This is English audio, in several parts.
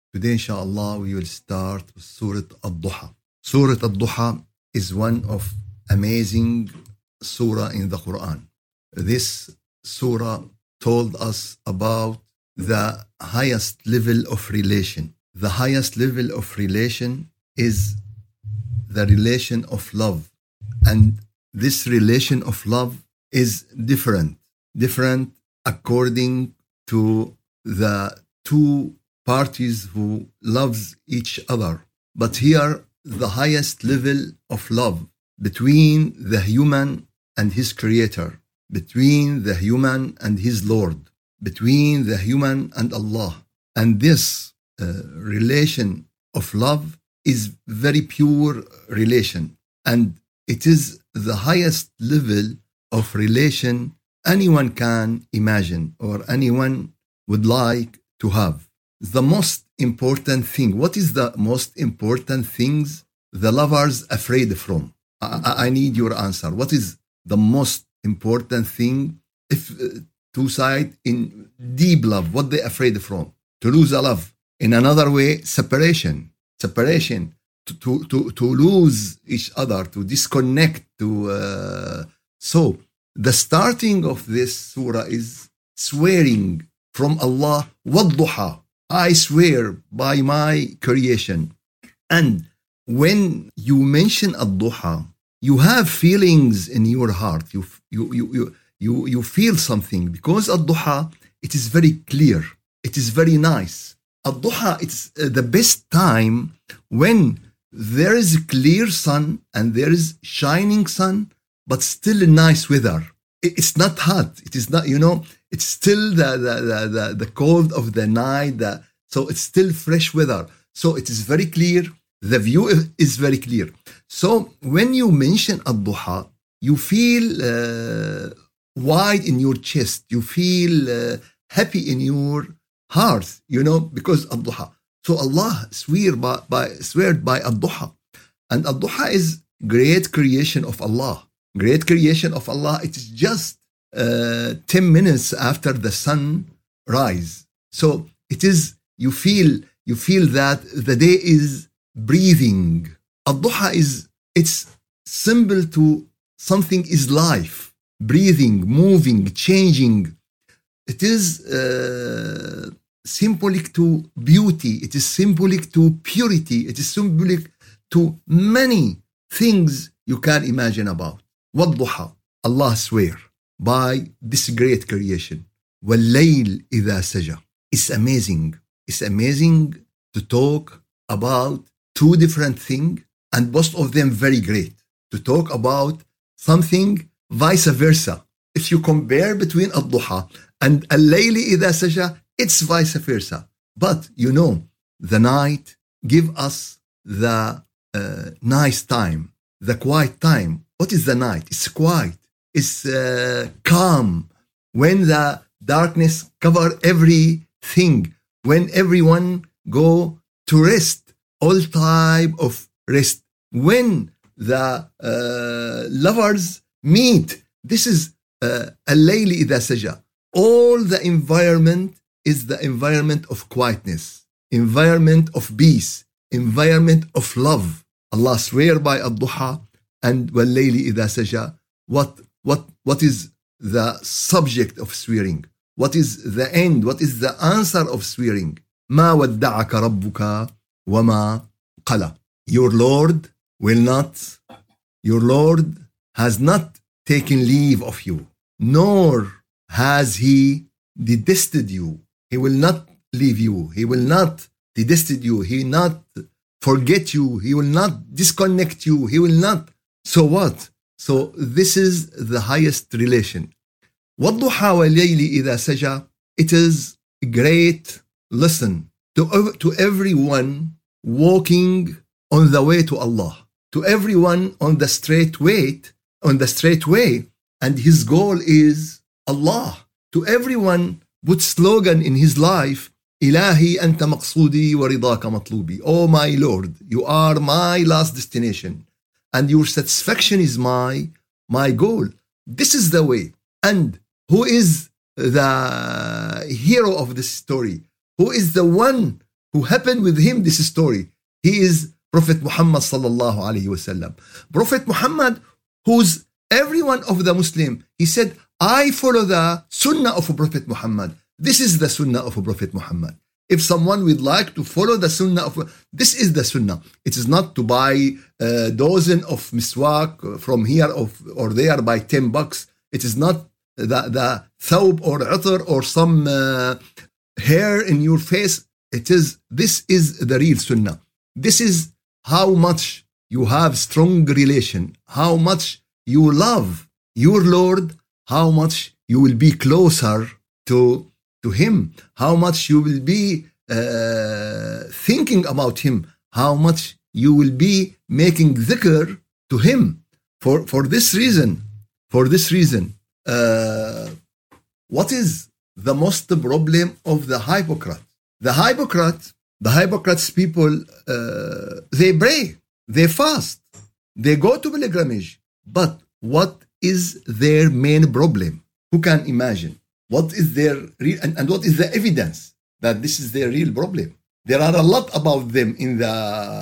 Today, inshallah, we will start with Surah Al-Duha. Surah Al-Duha is one of amazing surah in the Quran. This surah told us about the highest level of relation. The highest level of relation is the relation of love. And this relation of love is different according to the two parties who loves each other. But here, the highest level of love between the human and his creator, between the human and his Lord, between the human and Allah. And this relation of love is very pure relation. And it is the highest level of relation anyone can imagine or anyone would like to have. The most important thing, what is the most important things the lovers afraid from? I need your answer. What is the most important thing if two sides in deep love, what they afraid from? To lose a love. In another way, separation, to lose each other, to disconnect, so the starting of this surah is swearing from Allah, وَالضُّحَى, I swear by my creation. And when you mention Al-Duha, you have feelings in your heart. You feel something because Al-Duha, it is very clear. It is very nice. Al-Duha, it's the best time when there is a clear sun and there is shining sun, but still nice weather. It's not hot. It is not, it's still the cold of the night. So it's still fresh weather. So it is very clear. The view is very clear. So when you mention Al-Duha, you feel wide in your chest. You feel happy in your heart, because Al-Duha. So Allah sweared by Al-Duha. And Al-Duha is great creation of Allah. Great creation of Allah. It is just 10 minutes after the sun rise. So it is, you feel that the day is breathing. Al-Duha it's symbol to something is life, breathing, moving, changing. It is symbolic to beauty. It is symbolic to purity. It is symbolic to many things you can imagine about. وَالضُّحَى, Allah swear by this great creation. وَاللَّيْلِ إِذَا سَجَى. It's amazing. It's amazing to talk about two different things and both of them very great. To talk about something vice versa. If you compare between Al-Duha and Al-Layl إِذَا سَجَى, it's vice versa. But the night give us the nice time, the quiet time. What is the night? It's quiet. It's calm. When the darkness cover everything, when everyone go to rest, all type of rest. When the lovers meet, this is Al-Layl إذا سجى. All the environment is the environment of quietness, environment of peace, environment of love. Allah swear by Al-Duha and وَاللَّيْلِ إِذَا سَجَى. What is the subject of swearing? What is the end? What is the answer of swearing? مَا وَدَّعَكَ رَبُّكَ وَمَا قَلَى. Your Lord has not taken leave of you, nor has he detested you. He will not leave you. He will not detested you. He will not forget you. He will not disconnect you. He will not. So what? So this is the highest relation. وَالضُّحَى وَاللَّيْلِ إِذَا سَجَى. It is a great lesson to everyone walking on the way to Allah, to everyone on the straight way, and his goal is Allah. To everyone put slogan in his life, إلهي أنت مقصودي ورضاك مطلوبي. Oh my Lord, you are my last destination and your satisfaction is my goal. This is the way. And who is the hero of this story? Who is the one who happened with him this story. He is Prophet Muhammad sallallahu alayhi wasallam. Prophet Muhammad, who's every one of the Muslim, he said, I follow the sunnah of Prophet Muhammad. This is the sunnah of Prophet Muhammad. If someone would like to follow the sunnah of, this is the sunnah. It is not to buy a dozen of miswak from here or there by $10. It is not the thawb or utter or some hair in your face. This is the real sunnah. This is how much you have strong relation, how much you love your Lord, how much you will be closer to him, how much you will be thinking about him, how much you will be making dhikr to him. For this reason, what is the most problem of the hypocrite? The hypocrites people, they pray, they fast, they go to pilgrimage. But what is their main problem? Who can imagine? What is their real, and what is the evidence that this is their real problem? There are a lot about them in the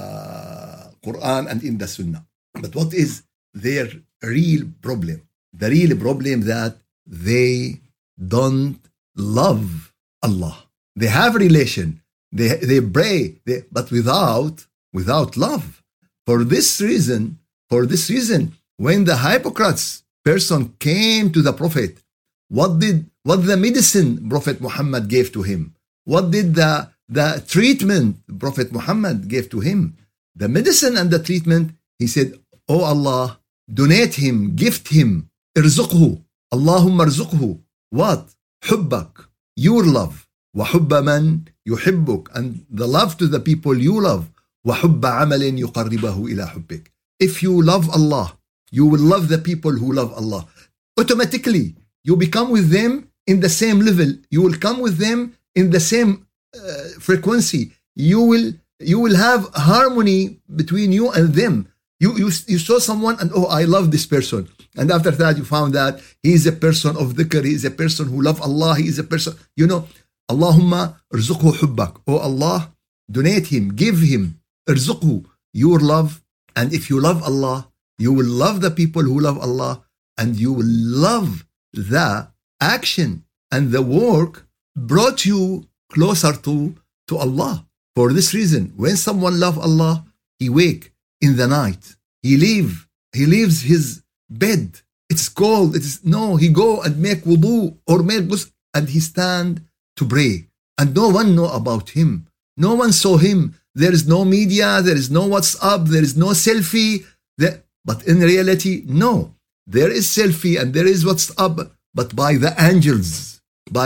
Quran and in the Sunnah. But what is their real problem? The real problem that they don't love Allah. They have relation. They pray, but without love. For this reason, when the hypocrites person came to the Prophet, what the medicine Prophet Muhammad gave to him? What did the treatment Prophet Muhammad gave to him? The medicine and the treatment, he said, Oh Allah, donate him, gift him, irzuqhu, Allahumma irzuqhu. What? Hubbak, your love. وحب من يحبك, and the love to the people you love. وحب عمل يقربه إلى حبك. If you love Allah, you will love the people who love Allah. Automatically, you become with them in the same level. You will come with them in the same frequency. You will have harmony between you and them. You saw someone and, oh, I love this person. And after that, you found that he is a person of dhikr. He is a person who love Allah. He is a person, Allahumma irzuqhu hubbak. Oh Allah, donate him, give him, irzuqhu, your love. And if you love Allah, you will love the people who love Allah, and you will love the action and the work brought you closer to Allah. For this reason, when someone love Allah, he wake in the night, he leaves his bed. It's cold. He go and make wudu or make ghusl, and he stand to pray, and no one know about him. No one saw him. There is no media, there is no WhatsApp, there is no selfie. But in reality, no. There is selfie and there is WhatsApp, but by the angels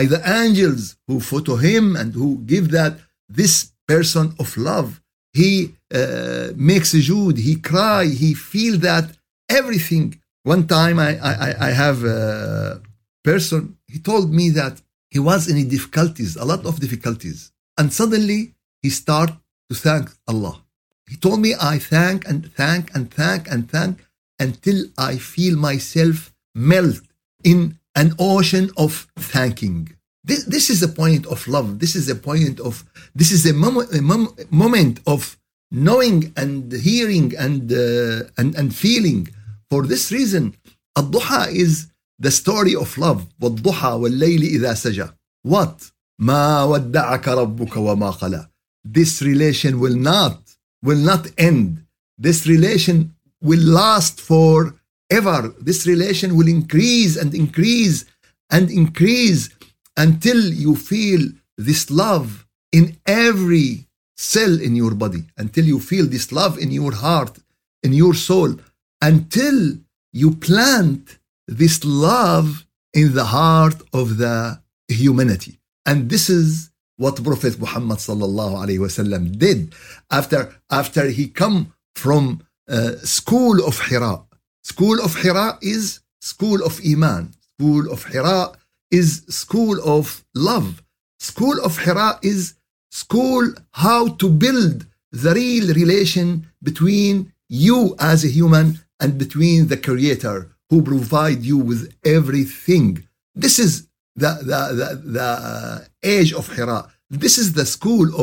who photo him and who give that this person of love. He makes sujood, he cry, he feel that everything. One time I have a person, he told me that he was in difficulties, a lot of difficulties. And suddenly he started to thank Allah. He told me, I thank until I feel myself melt in an ocean of thanking. This is a point of love. This is a moment of knowing and hearing and feeling. For this reason, Ad-Duha is the story of love. وَالضُّحَى وَاللَّيْلِ إِذَا سَجَى. What? مَا وَدَّعَكَ رَبُّكَ وَمَا قَلَى. This relation will not end. This relation will last forever. This relation will increase and increase and increase until you feel this love in every cell in your body, until you feel this love in your heart, in your soul, until you plant this love in the heart of the humanity. And this is what Prophet Muhammad sallallahu alaihi wasallam did after he come from school of Hira. School of Hira is school of Iman. School of Hira is school of love. School of Hira is school how to build the real relation between you as a human and between the Creator who provide you with everything. This is the age of Hira. This is the school of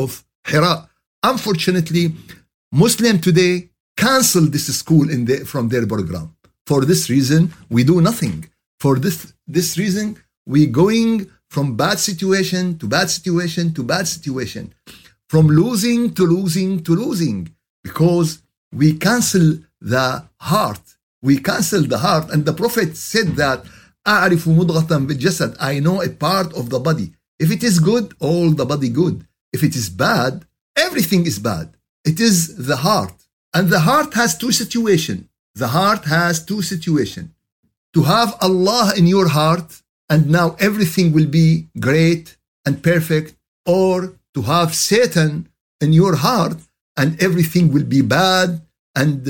Hira. Unfortunately, Muslim today cancel this school from their program. For this reason, we do nothing. For this reason, we going from bad situation to bad situation to bad situation, from losing to losing to losing, because we cancel the heart. We cancel the heart. And the Prophet said that, أعرف مضغة بالجسد, I know a part of the body. If it is good, all the body good. If it is bad, everything is bad. It is the heart. And the heart has two situations. The heart has two situations. To have Allah in your heart, and now everything will be great and perfect, or to have Satan in your heart, and everything will be bad, and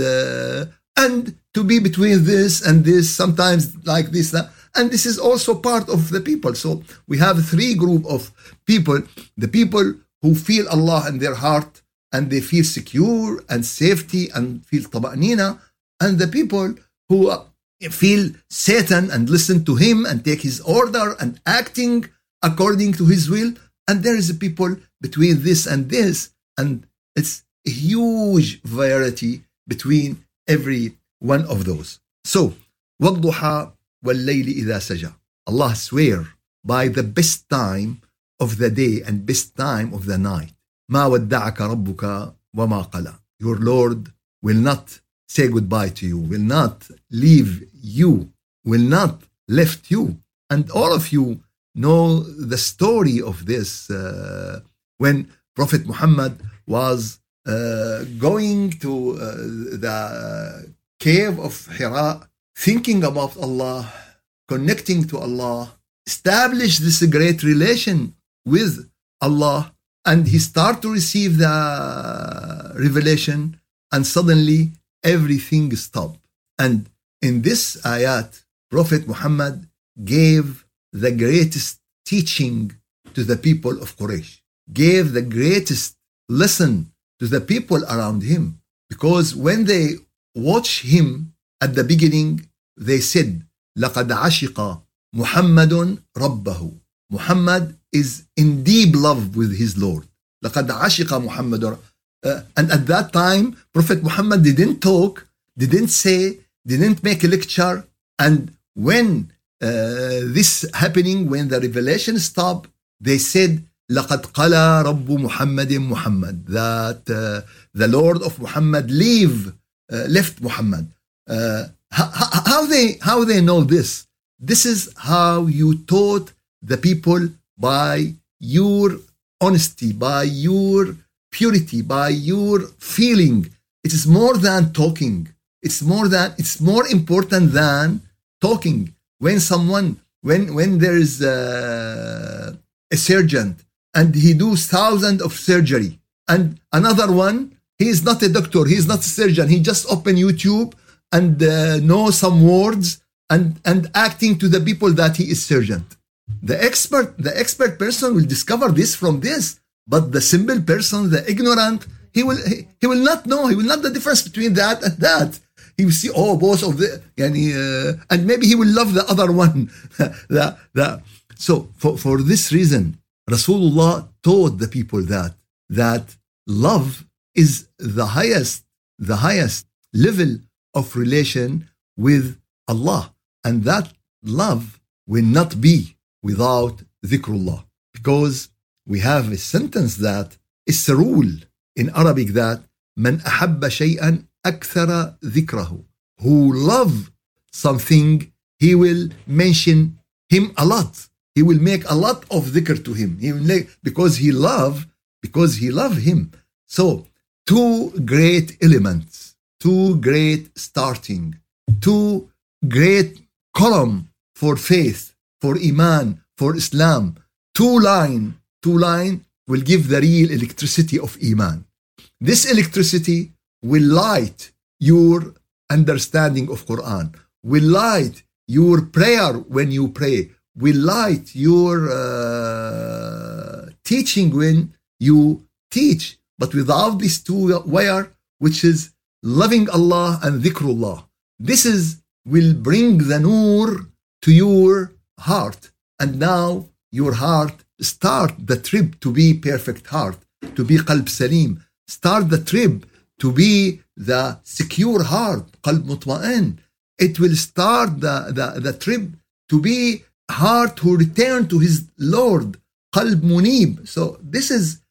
to be between this and this, sometimes like this, that. And this is also part of the people. So we have three groups of people. The people who feel Allah in their heart, and they feel secure and safety and feel taba'nina, and the people who feel Satan and listen to him and take his order and acting according to his will. And there is a people between this and this, and it's a huge variety between every one of those. So, وَالضُّحَى وَاللَّيْلِ إِذَا سَجَى. Allah swear by the best time of the day and best time of the night. مَا وَدَّعَكَ رَبُّكَ وَمَا قَلَى. Your Lord will not say goodbye to you, will not leave you, will not left you. And all of you know the story of this when Prophet Muhammad was going to the cave of Hira, thinking about Allah, connecting to Allah, establish this great relation with Allah, and he started to receive the revelation, and suddenly everything stopped. And in this ayat, Prophet Muhammad gave the greatest teaching to the people of Quraysh, gave the greatest lesson to the people around him. Because when they watched him at the beginning, they said, لَقَدْ عَشِقَ مُحَمَّدٌ رَبَّهُ. Muhammad is in deep love with his Lord. لَقَدْ عَشِقَ مُحَمَّدٌ. And at that time, Prophet Muhammad didn't talk, didn't say, didn't make a lecture. And when this happening, when the revelation stopped, they said, لَقَدْ قَلَى رَبُّ مُحَمَّدٍ مُحَمَّد. That the Lord of Muhammad left Muhammad. How they know this? This is how you taught the people, by your honesty, by your purity, by your feeling. It is more than talking. It's more important than talking. When there is a surgeon and he does thousands of surgery, and another one, he is not a doctor, he is not a surgeon, he just open YouTube and know some words and acting to the people that he is surgeon. The expert person will discover this from this, but the simple person, the ignorant, he will not know. He will not the difference between that and that. He will see, both of the, and maybe he will love the other one. So for this reason, Rasulullah taught the people that love is the highest level of relation with Allah, and that love will not be without dhikrullah, because we have a sentence that is a rule in Arabic that man ahabba shay'an akthara dhikrahu. Who love something, he will mention him a lot. He will make a lot of dhikr to him. He will make, because he love him. So two great elements, two great starting, two great column for faith, for Iman, for Islam. Two line will give the real electricity of Iman. This electricity will light your understanding of Quran, will light your prayer when you pray, will light your teaching when you teach. But without these two wire, which is loving Allah and dhikrullah, this will bring the nur to your heart. And now your heart start the trip to be perfect heart. to be قلب سليم. Start the trip to be the secure heart, قلب مطمئن. It will start the trip to be heart who return to his Lord, قلب منيب. So this is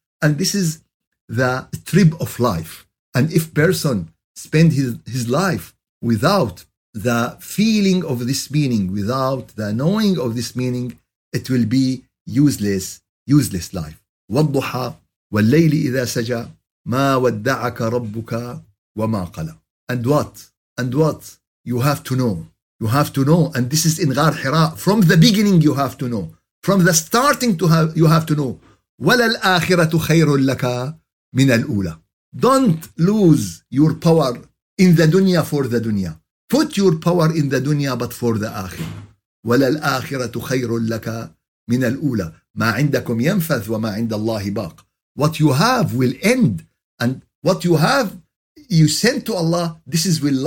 the trip of life. And if person spend his life without the feeling of this meaning, without the knowing of this meaning, it will be useless life. والضحى والليل إذا سجى ما ودعك ربك وما قلى. And what you have to know, and this is in Ghar Hira. From the beginning you have to know, from the starting you have to know. وَلَلْآخِرَةُ خَيْرٌ لَكَ مِنَ الْأُولَى. Don't lose your power in the dunya for the dunya. Put your power in the dunya but for the akhirah. وَلَلْآخِرَةُ خَيْرٌ لَكَ مِنَ الْأُولَى. ما عندكم ينفذ وما عند الله باق. What you have will end, and what you have you send to Allah, this will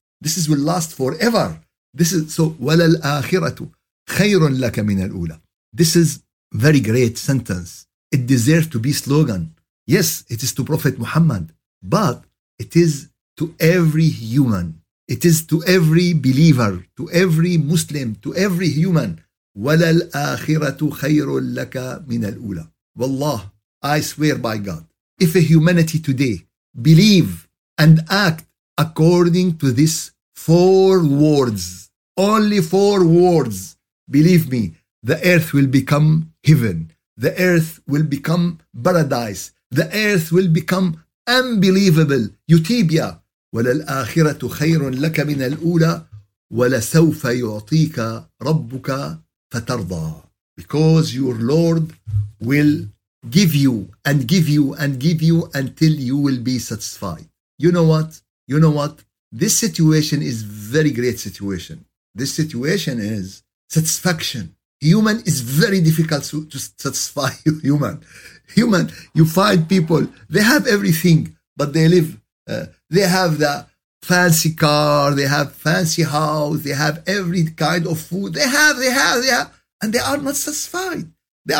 last forever. This is so. وَلَلْآخِرَةُ خَيْرٌ لَكَ مِنَ الْأُولَى. This is very great sentence. It deserves to be slogan. Yes, it is to Prophet Muhammad, but it is to every human. It is to every believer, to every Muslim, to every human. وَلَلْآخِرَةُ خَيْرٌ لَكَ مِنَ الْأُولَى. Wallah, I swear by God, if a humanity today believe and act according to these 4 words, only 4 words, believe me, the earth will become heaven. The earth will become paradise. The earth will become unbelievable utopia. وَلَلْآخِرَةُ خَيْرٌ لَكَ مِنَ الْأُولَى وَلَسَوْفَ يُعْطِيكَ رَبُّكَ فَتَرْضَى. Because your Lord will give you and give you and give you until you will be satisfied. You know what? This situation is very great situation. This situation is satisfaction. Human is very difficult to satisfy human. You find people, they have everything, but they live, they have the fancy car, they have fancy house, they have every kind of food, they have, and they are not satisfied.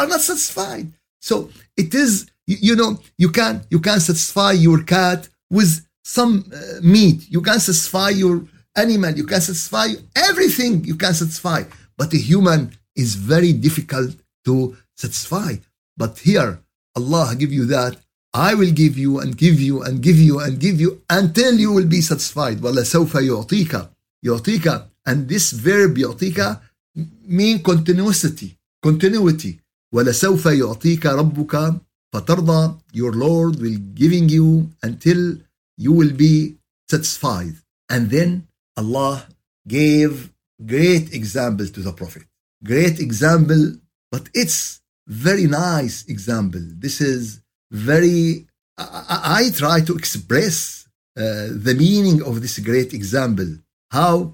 So it is, you can satisfy your cat with some meat. You can satisfy your animal. You can satisfy everything. You can satisfy, but a human is very difficult to satisfy. But here, Allah give you that. I will give you and give you and give you and give you until you will be satisfied. وَلَسَوْفَ يُعْطِيكَ. And this verb يُعْطِيكَ mean continuity. وَلَسَوْفَ يُعْطِيكَ رَبُّكَ فَتَرْضَى. Your Lord will giving you until you will be satisfied. And then Allah gave great example to the Prophet. Great example, but it's very nice example. This is very, I try to express the meaning of this great example. How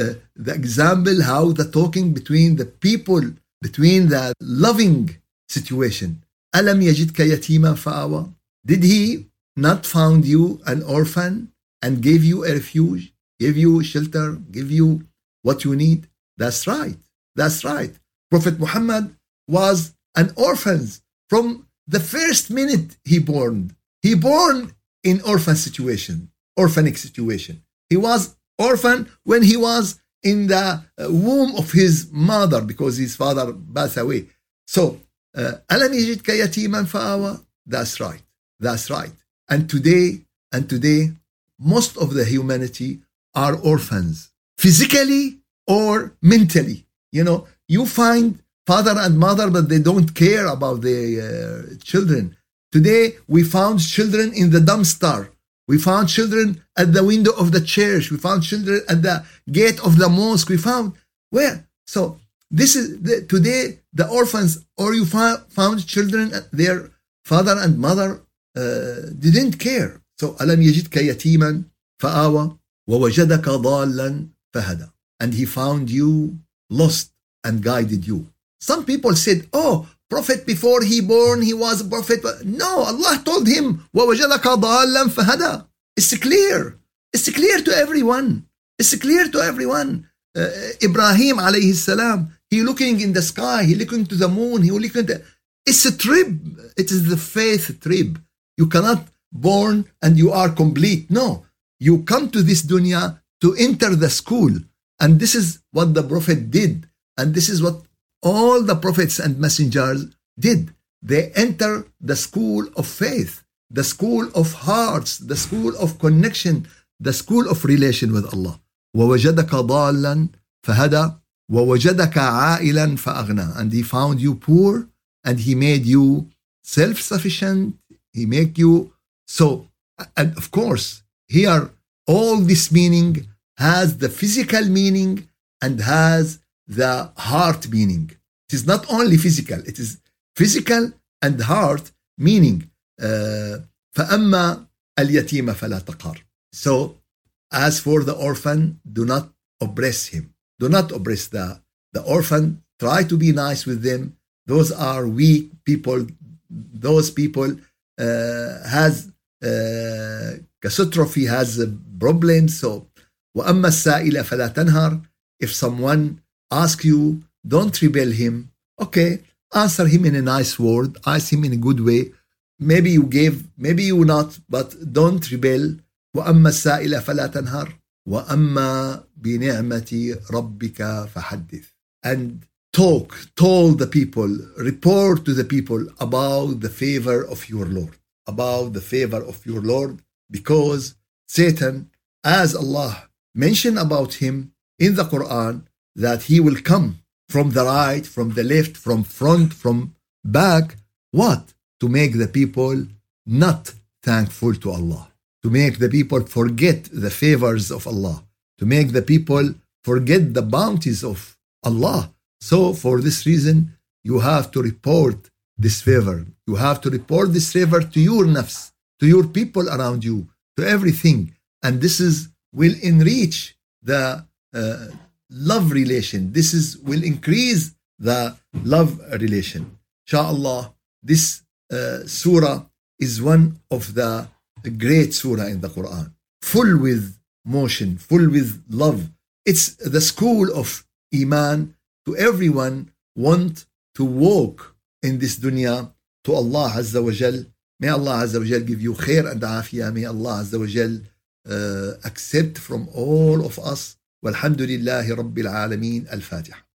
how the talking between the people, between the loving situation. أَلَمْ يَجِدْكَ يَتِيمًا فَآوَى. Did he not found you an orphan and gave you a refuge, give you shelter, give you what you need? That's right. Prophet Muhammad was an orphan from the first minute he born. He born in orphan situation, orphanic situation. He was orphan when he was in the womb of his mother because his father passed away. So, أَلَمْ يَجِدْكَ يَتِيمًا فَآوَى. That's right. And today, most of the humanity are orphans, physically or mentally. You find father and mother, but they don't care about their children. Today, we found children in the dumpster. We found children at the window of the church. We found children at the gate of the mosque. We found where? So this is today the orphans, or you found children, their father and mother didn't care. So أَلَمْ يَجِدْكَ يَتِيمًا فَآوَى وَوَجَدَكَ ضَالًّا فَهَدَى. And he found you lost and guided you. Some people said, oh, prophet before he born, he was a prophet. No, Allah told him, وَوَجَدَكَ ضَالًّا فَهَدَى. It's clear to everyone. Ibrahim alayhi salam, he looking in the sky, he looking to the moon, he looking It's a trip. It is the faith trip. You cannot born and you are complete. No, you come to this dunya to enter the school. And this is what the Prophet did. And this is what all the prophets and messengers did. They enter the school of faith, the school of hearts, the school of connection, the school of relation with Allah. وَوَجَدَكَ ضَالًا فَهَدَى وَوَجَدَكَ عَائِلًا فَأَغْنَى. And he found you poor and he made you self-sufficient. He made you so. And of course, here all this meaning has the physical meaning and has the heart meaning. It is not only physical, it is physical and heart meaning. فَأَمَّا الْيَتِيمَ فَلَا تَقْهَرْ. So, as for the orphan, do not oppress him. Do not oppress the orphan. Try to be nice with them. Those are weak people. Those people has catastrophe, has a problem. So, وَأَمَّا السَّائِلَ فَلَا تَنْهَرْ. If someone asks you, don't rebel him. Okay, answer him in a nice word. Ask him in a good way. Maybe you gave, maybe you not, but don't rebel. وَأَمَّا السَّائِلَ فَلَا تَنْهَرْ وَأَمَّا بِنِعْمَةِ رَبِّكَ فَحَدِّثْ. And told the people, report to the people about the favor of your Lord. About the favor of your Lord, because Satan, as Allah mentioned about him in the Quran, that he will come from the right, from the left, from front, from back. What? To make the people not thankful to Allah. To make the people forget the favors of Allah. To make the people forget the bounties of Allah. So for this reason, you have to report this favor. You have to report this favor to your nafs, to your people around you, to everything. And this will enrich the love relation. Will increase the love relation. Inshallah, this surah is one of the great surah in the Quran, full with motion, full with love. It's the school of Iman to everyone want to walk in this dunya to Allah Azza wa Jal. May Allah Azza wa Jal give you khair and afiyah. May Allah Azza wa Jal accept from all of us. Walhamdulillahi Rabbil Alameen. Al-Fatiha.